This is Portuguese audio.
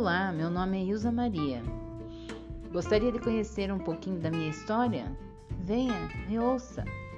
Olá, meu nome é Ilza Maria. Gostaria de conhecer um pouquinho da minha história? Venha, me ouça!